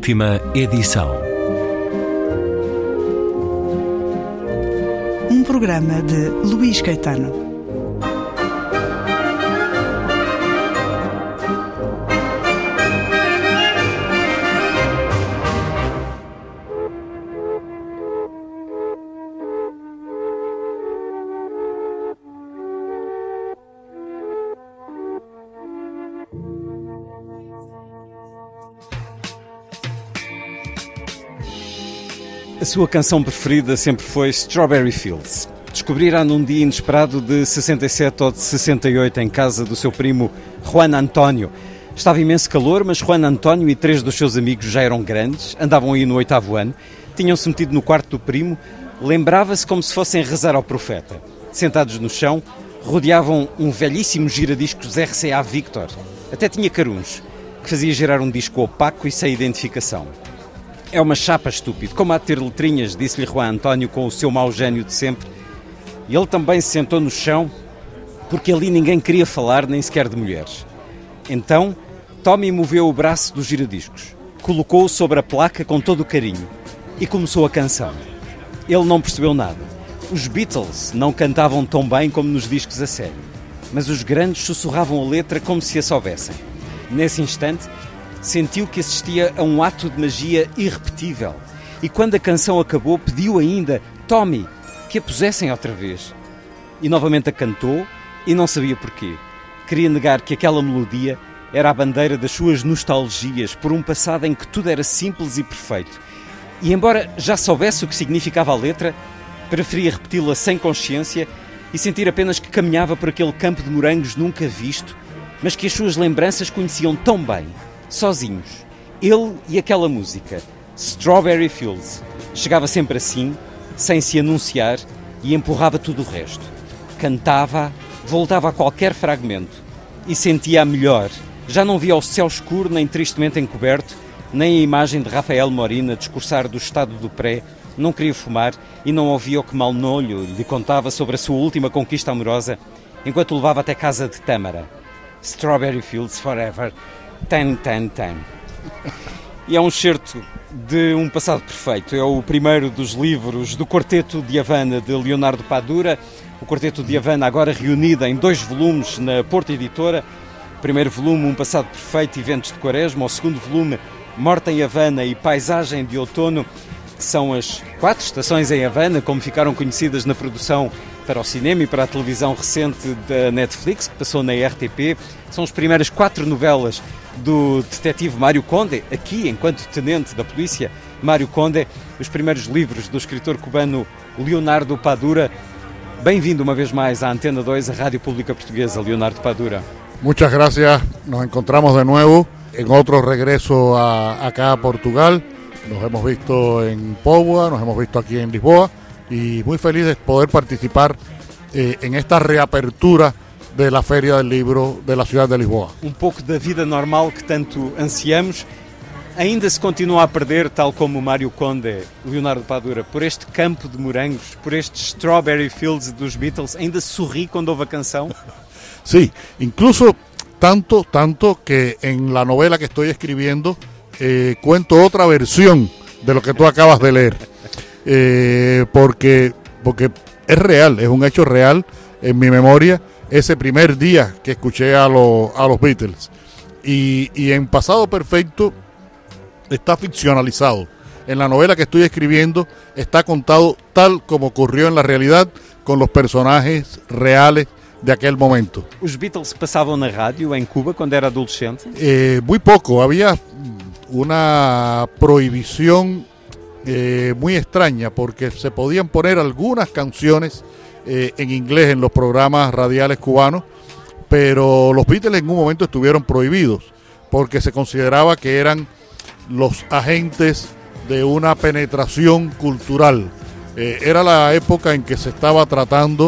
Última edição. Um programa de Luís Caetano. A sua canção preferida sempre foi Strawberry Fields. Descobrirá num dia inesperado de 67 ou de 68 em casa do seu primo Juan António. Estava imenso calor, mas Juan António e 3 dos seus amigos já eram grandes, andavam aí no 8º ano, tinham-se metido no quarto do primo, lembrava-se como se fossem rezar ao profeta. Sentados no chão, rodeavam um velhíssimo giradiscos RCA Victor. Até tinha caruns, que fazia girar um disco opaco e sem identificação. É uma chapa, estúpido, como há de ter letrinhas, disse-lhe Juan António com o seu mau gênio de sempre. E ele também se sentou no chão, porque ali ninguém queria falar, nem sequer de mulheres. Então, Tommy moveu o braço dos giradiscos, colocou-o sobre a placa com todo o carinho e começou a canção. Ele não percebeu nada. Os Beatles não cantavam tão bem como nos discos a sério, mas os grandes sussurravam a letra como se a soubessem. Nesse instante, sentiu que assistia a um ato de magia irrepetível e quando a canção acabou pediu ainda, Tommy, que a pusessem outra vez. E novamente a cantou e não sabia porquê. Queria negar que aquela melodia era a bandeira das suas nostalgias por um passado em que tudo era simples e perfeito. E embora já soubesse o que significava a letra, preferia repeti-la sem consciência e sentir apenas que caminhava por aquele campo de morangos nunca visto, mas que as suas lembranças conheciam tão bem. Sozinhos, ele e aquela música, Strawberry Fields, chegava sempre assim, sem se anunciar, e empurrava tudo o resto. Cantava, voltava a qualquer fragmento e sentia-a melhor. Já não via o céu escuro nem tristemente encoberto, nem a imagem de Rafael Morina a discursar do estado do pré, não queria fumar e não ouvia o que Malnolho lhe contava sobre a sua última conquista amorosa, enquanto o levava até casa de Tâmara. Strawberry Fields Forever. Tan, tan, tan. E é um excerto de Um Passado Perfeito. É o primeiro dos livros do Quarteto de Havana de Leonardo Padura. O Quarteto de Havana agora reunido em 2 volumes na Porta Editora. O primeiro volume, Um Passado Perfeito e Ventos de Quaresma. O segundo volume, Morte em Havana e Paisagem de Outono. São as 4 estações em Havana, como ficaram conhecidas na produção para o cinema e para a televisão recente da Netflix, que passou na RTP. São as primeiras 4 novelas do detetive Mário Conde, aqui enquanto tenente da polícia Mário Conde, os primeiros livros do escritor cubano Leonardo Padura. Bem-vindo uma vez mais à Antena 2, a Rádio Pública Portuguesa, Leonardo Padura. Muchas gracias, nos encontramos de nuevo en otro regreso acá a Portugal. Nos hemos visto en Póvoa, nos hemos visto aquí en Lisboa y muy feliz de poder participar en esta reapertura de la Feria del Libro de la ciudad de Lisboa. Um pouco da vida normal que tanto ansiamos, ainda se continua a perder, tal como o Mário Conde, Leonardo Padura, por este campo de morangos, por estes Strawberry Fields dos Beatles, ainda se sorri quando ouve a canção? Sí, incluso tanto que en la novela que estoy escribiendo cuento otra versión de lo que tú acabas de leer, porque es real, es un hecho real en mi memoria ese primer día que escuché a los Beatles y en Pasado Perfecto está ficcionalizado. En la novela que estoy escribiendo está contado tal como ocurrió en la realidad con los personajes reales de aquel momento. Os Beatles passavam na rádio em Cuba quando era adolescente? Muy poco, había una prohibición muy extraña porque se podían poner algunas canciones en inglés en los programas radiales cubanos, pero los Beatles en un momento estuvieron prohibidos porque se consideraba que eran los agentes de una penetración cultural. Era la época en que se estaba tratando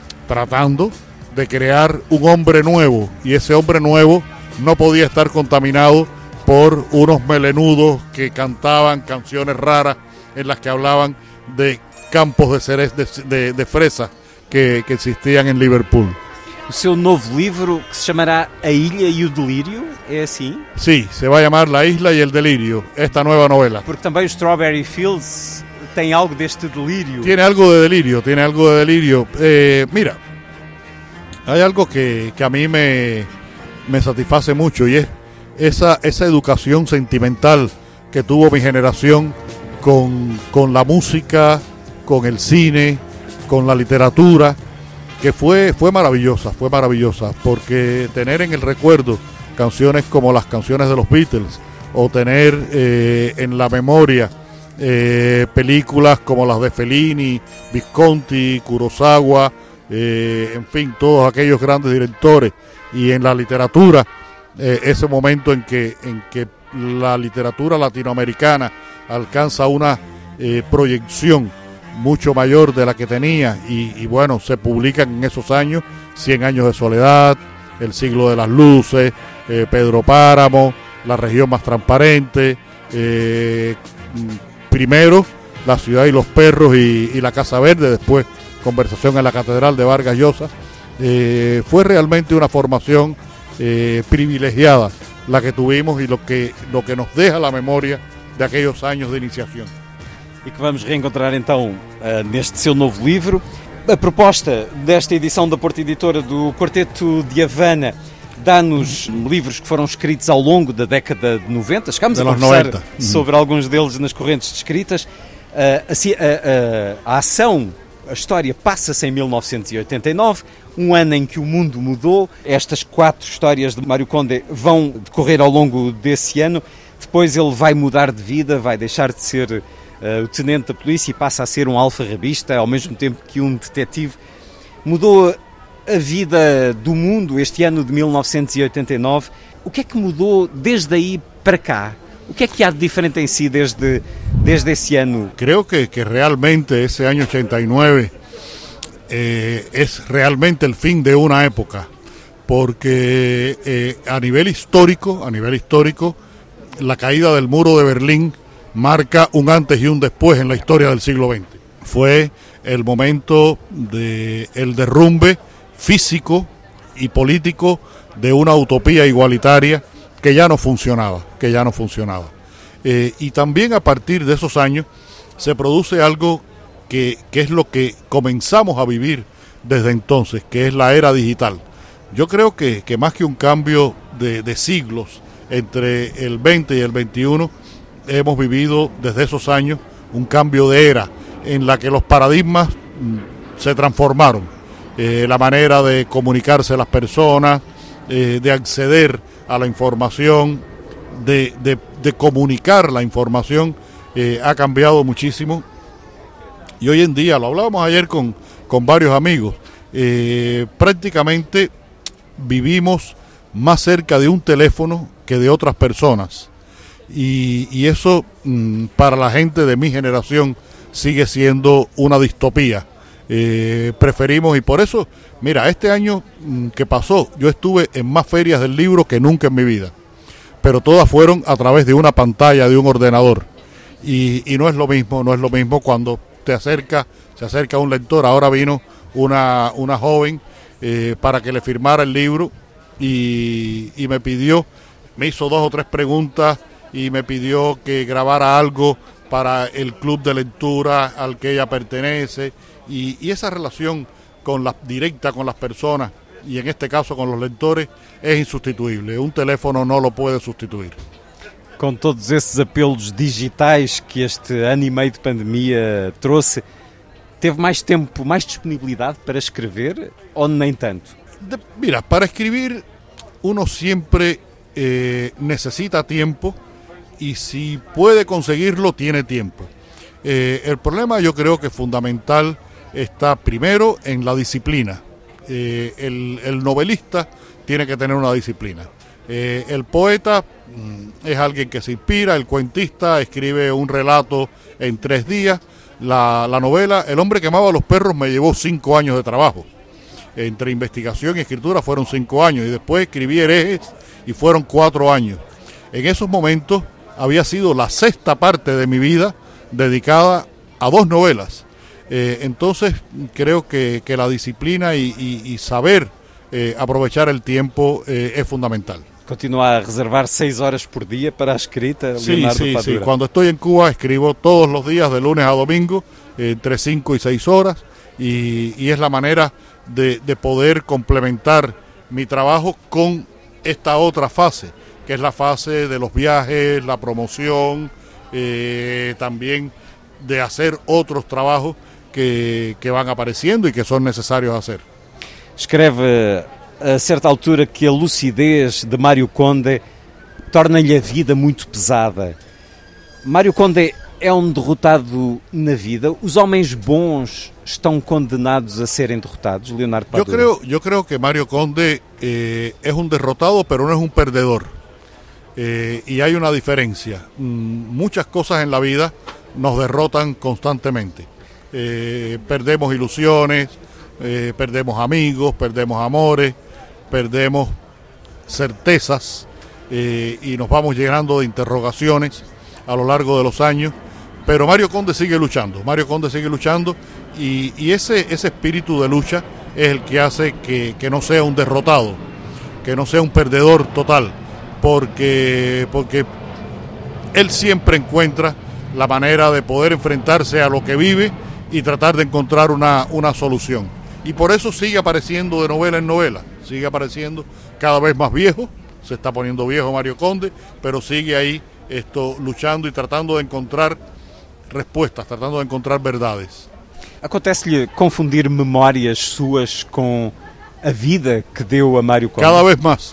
de crear un hombre nuevo y ese hombre nuevo no podía estar contaminado por unos melenudos que cantaban canciones raras en las que hablaban de campos de cerez de fresa que existían en Liverpool. o seu novo livro que se chamará A Ilha e o Delírio, é assim? Sí, se va a llamar La Isla y el Delirio, esta nueva novela. Porque também o Strawberry Fields tem algo deste delírio. Tiene algo de delirio, tiene algo de delirio. Mira, hay algo que a mí me satisface mucho y es esa educación sentimental que tuvo mi generación con la música, con el cine, con la literatura, que fue maravillosa, porque tener en el recuerdo canciones como las canciones de los Beatles o tener en la memoria películas como las de Fellini, Visconti, Kurosawa, en fin, todos aquellos grandes directores, y en la literatura ese momento en que la literatura latinoamericana alcanza una proyección mucho mayor de la que tenía, y bueno, se publican en esos años 100 años de soledad, El siglo de las luces, Pedro Páramo, La región más transparente, primero La ciudad y los perros y La casa verde, después Conversación en la catedral de Vargas Llosa. Fue realmente una formación privilegiada la que tuvimos y lo que nos deja la memoria de aquellos años de iniciación. E que vamos reencontrar então neste seu novo livro. A proposta desta edição da Porta Editora do Quarteto de Havana dá-nos livros que foram escritos ao longo da década de 90. Chegámos a conversar sobre alguns deles nas correntes descritas. A ação, a história passa-se em 1989, um ano em que o mundo mudou. Estas 4 histórias de Mário Conde vão decorrer ao longo desse ano. Depois ele vai mudar de vida, vai deixar de ser o tenente da polícia e passa a ser um alfarrabista, ao mesmo tempo que um detetive. Mudou a vida do mundo este ano de 1989. O que é que mudou desde aí para cá? O que é que há de diferente em si desde esse ano? Creo que realmente ese año 89 es realmente el fin de una época, porque a nivel histórico, la caída del muro de Berlín marca un antes y un después en la historia del siglo XX. Fue el momento del derrumbe físico y político de una utopía igualitaria que ya no funcionaba. Y también a partir de esos años se produce algo que es lo que comenzamos a vivir desde entonces, que es la era digital. Yo creo que más que un cambio de siglos entre el 20 y el 21, hemos vivido desde esos años un cambio de era en la que los paradigmas se transformaron. La manera de comunicarse las personas, de acceder a la información, de comunicar la información, ha cambiado muchísimo. Y hoy en día, lo hablábamos ayer con varios amigos, prácticamente vivimos más cerca de un teléfono que de otras personas. Y eso para la gente de mi generación sigue siendo una distopía. Preferimos, y por eso, mira, este año que pasó, yo estuve en más ferias del libro que nunca en mi vida, pero todas fueron a través de una pantalla, de un ordenador, y no es lo mismo cuando se acerca un lector. Ahora vino una joven para que le firmara el libro y me hizo 2 o 3 preguntas y me pidió que grabara algo para el club de lectura al que ella pertenece, y esa relación directa con las personas, y en este caso con los lectores, es insustituible. Un teléfono no lo puede sustituir. Com todos esses apelos digitais que este ano e meio de pandemia trouxe, teve mais tempo, mais disponibilidade para escrever ou nem tanto? Mira, para escribir uno siempre necesita tiempo, y si puede conseguirlo, tiene tiempo. El problema, yo creo que fundamental, está primero en la disciplina. El novelista tiene que tener una disciplina. El poeta es alguien que se inspira, el cuentista escribe un relato en 3 días. La novela, El hombre que amaba a los perros, me llevó 5 años de trabajo. Entre investigación y escritura fueron 5 años, y después escribí Herejes y fueron 4 años. En esos momentos había sido la 6ª parte de mi vida dedicada a 2 novelas. Entonces creo que la disciplina y saber aprovechar el tiempo es fundamental. Continua a reservar 6 horas por día para a escrita, Leonardo Padura? Sí. Cuando estoy en Cuba escribo todos los días, de lunes a domingo, entre 5 y 6 horas, y es la manera de poder complementar mi trabajo con esta otra fase, que es la fase de los viajes, la promoción, también de hacer otros trabajos que van apareciendo y que son necesarios hacer. Escreve a certa altura que a lucidez de Mário Conde torna-lhe a vida muito pesada. Mário Conde é derrotado na vida? Os homens bons estão condenados a serem derrotados, Leonardo Padura? Yo creo que Mário Conde es un derrotado, pero no es un perdedor. Y hay una diferencia. Muchas cosas en la vida nos derrotan constantemente. Perdemos ilusiones, perdemos amigos, perdemos amores, perdemos certezas, y nos vamos llenando de interrogaciones a lo largo de los años, pero Mário Conde sigue luchando, y ese espíritu de lucha es el que hace que no sea un derrotado, que no sea un perdedor total, porque él siempre encuentra la manera de poder enfrentarse a lo que vive y tratar de encontrar una solución. Y por eso sigue apareciendo de novela en novela, sigue apareciendo cada vez más viejo, se está poniendo viejo Mário Conde, pero sigue ahí luchando y tratando de encontrar respuestas, tratando de encontrar verdades. Acontece-lhe confundir memórias suas com a vida que deu a Mário Conde? Cada vez más.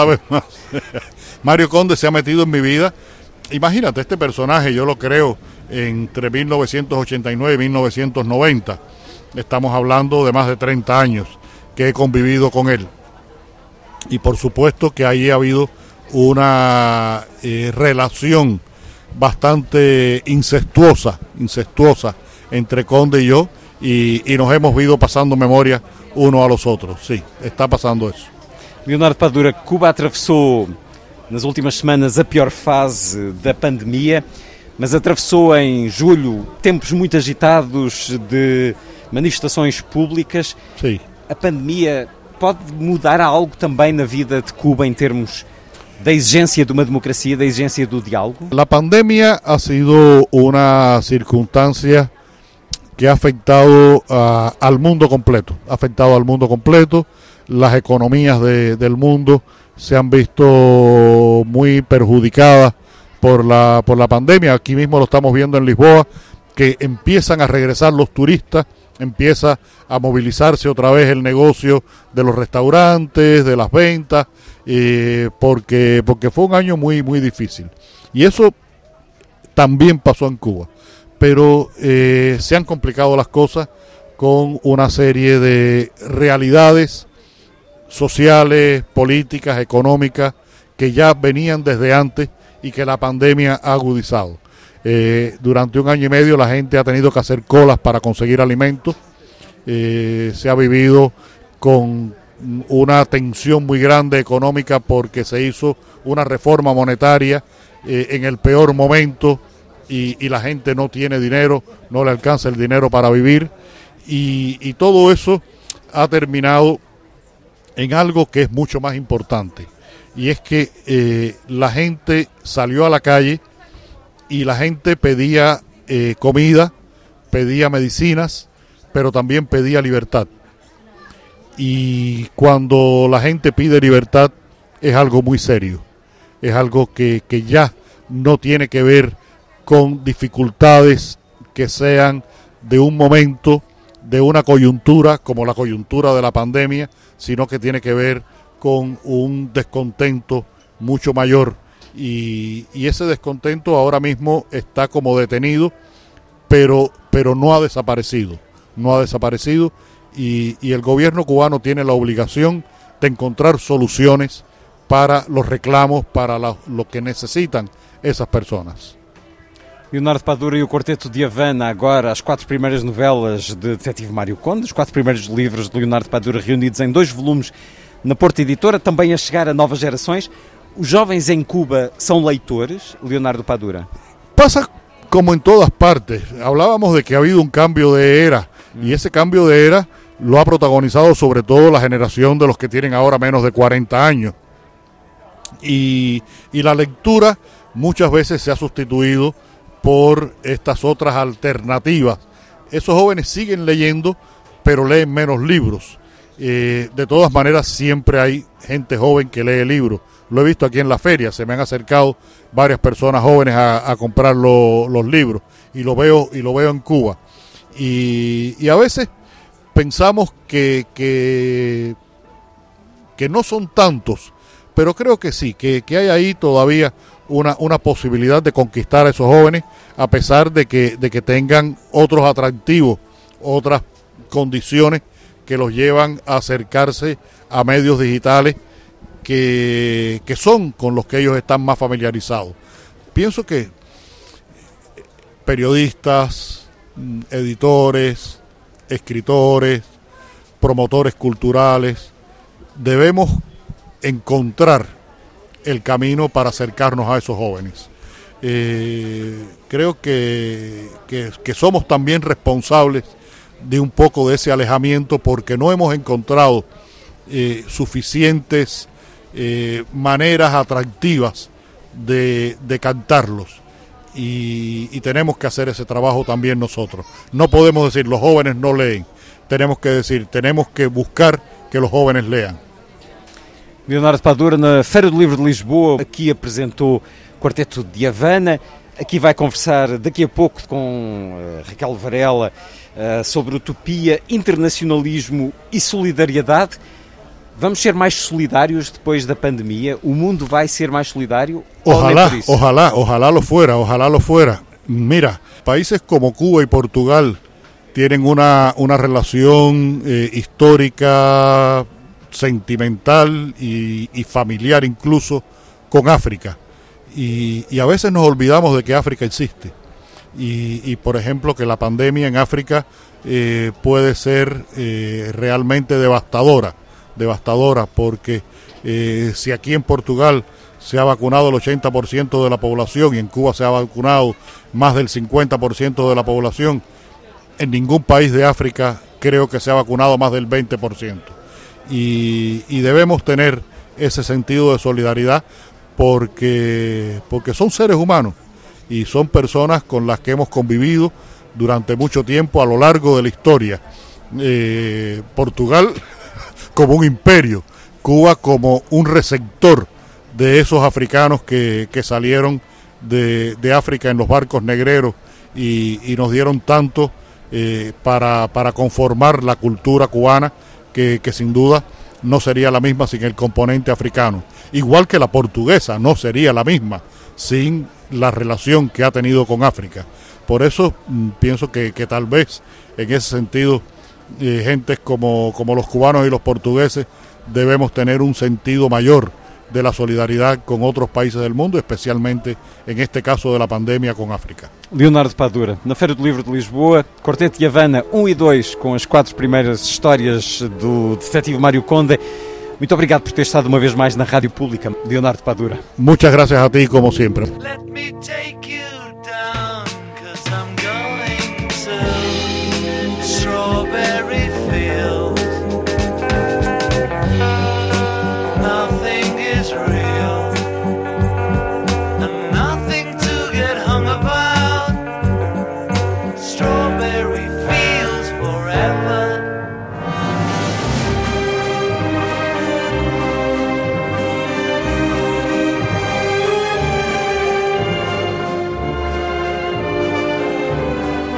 Mário Conde se ha metido en mi vida. Imagínate, este personaje yo lo creo entre 1989 y 1990. Estamos hablando de más de 30 años que he convivido con él. Y por supuesto que ahí ha habido una relación bastante incestuosa entre Conde y yo, y nos hemos ido pasando memoria uno a los otros. Sí, está pasando eso. Leonardo Padura, Cuba atravessou nas últimas semanas a pior fase da pandemia, mas atravessou em julho tempos muito agitados de manifestações públicas. Sim. A pandemia pode mudar algo também na vida de Cuba em termos da exigência de uma democracia, da exigência do diálogo? La pandemia ha sido una circunstancia que ha afectado al mundo completo, las economías del mundo se han visto muy perjudicadas por la pandemia. Aquí mismo lo estamos viendo en Lisboa, que empiezan a regresar los turistas, empieza a movilizarse otra vez el negocio de los restaurantes, de las ventas, porque fue un año muy difícil. Y eso también pasó en Cuba, pero se han complicado las cosas con una serie de realidades sociales, políticas, económicas, que ya venían desde antes y que la pandemia ha agudizado. Durante un año y medio la gente ha tenido que hacer colas para conseguir alimentos, se ha vivido con una tensión muy grande económica porque se hizo una reforma monetaria en el peor momento y la gente no tiene dinero, no le alcanza el dinero para vivir, y todo eso ha terminado en algo que es mucho más importante, y es que la gente salió a la calle y la gente pedía comida, pedía medicinas, pero también pedía libertad. Y cuando la gente pide libertad es algo muy serio, es algo que ya no tiene que ver con dificultades que sean de un momento, de una coyuntura como la coyuntura de la pandemia, sino que tiene que ver con un descontento mucho mayor, y ese descontento ahora mismo está como detenido, pero no ha desaparecido, y el gobierno cubano tiene la obligación de encontrar soluciones para los reclamos, para lo que necesitan esas personas. Leonardo Padura e o Quarteto de Havana, agora as 4 primeiras novelas de Detetive Mário Conde, os 4 primeiros livros de Leonardo Padura reunidos em 2 volumes na Porta Editora, também a chegar a novas gerações. Os jovens em Cuba são leitores, Leonardo Padura? Pasa como en todas partes. Hablábamos de que ha habido un cambio de era, y ese cambio de era lo ha protagonizado sobre todo la generación de los que tienen ahora menos de 40 años. Y la lectura muchas veces se ha sustituido por estas otras alternativas. Esos jóvenes siguen leyendo, pero leen menos libros. De todas maneras, siempre hay gente joven que lee libros. Lo he visto aquí en la feria, se me han acercado varias personas jóvenes a comprar los libros, y lo veo en Cuba. Y a veces pensamos que no son tantos, pero creo que sí, que hay ahí todavía una posibilidad de conquistar a esos jóvenes, a pesar de que tengan otros atractivos, otras condiciones que los llevan a acercarse a medios digitales que son con los que ellos están más familiarizados. Pienso que periodistas, editores, escritores, promotores culturales, debemos encontrar el camino para acercarnos a esos jóvenes. Creo que somos también responsables de un poco de ese alejamiento, porque no hemos encontrado suficientes maneras atractivas de cantarlos, y tenemos que hacer ese trabajo también nosotros. No podemos decir los jóvenes no leen, tenemos que decir, tenemos que buscar que los jóvenes lean. Leonardo Padura, na Feira do Livro de Lisboa, aqui apresentou o Quarteto de Havana. Aqui vai conversar daqui a pouco com Raquel Varela sobre utopia, internacionalismo e solidariedade. Vamos ser mais solidários depois da pandemia? O mundo vai ser mais solidário? Ojalá lo fuera. Mira, países como Cuba y Portugal tienen una relación histórica, sentimental y familiar incluso con África. Y a veces nos olvidamos de que África existe. Y por ejemplo, que la pandemia en África puede ser realmente devastadora, porque si aquí en Portugal se ha vacunado el 80% de la población y en Cuba se ha vacunado más del 50% de la población, en ningún país de África creo que se ha vacunado más del 20%. Y debemos tener ese sentido de solidaridad, porque son seres humanos y son personas con las que hemos convivido durante mucho tiempo a lo largo de la historia. Portugal como un imperio, Cuba como un receptor de esos africanos que salieron de África en los barcos negreros y nos dieron tanto para conformar la cultura cubana, que sin duda no sería la misma sin el componente africano. Igual que la portuguesa no sería la misma sin la relación que ha tenido con África. Por eso pienso que tal vez en ese sentido gentes como los cubanos y los portugueses debemos tener un sentido mayor de la solidaridad con otros países del mundo, especialmente en este caso de la pandemia con África. Leonardo Padura, na Feira do Livro de Lisboa, Quarteto de Havana 1 e 2, com as 4 primeiras histórias do detetive Mário Conde. Muito obrigado por ter estado uma vez mais na Rádio Pública, Leonardo Padura. Muchas gracias a ti, como siempre. Let me take you down, 'cause I'm going to Strawberry Fields. Nothing is real, and nothing to get hung about. Strawberry Fields forever.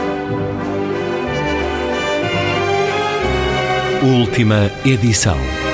Última edição.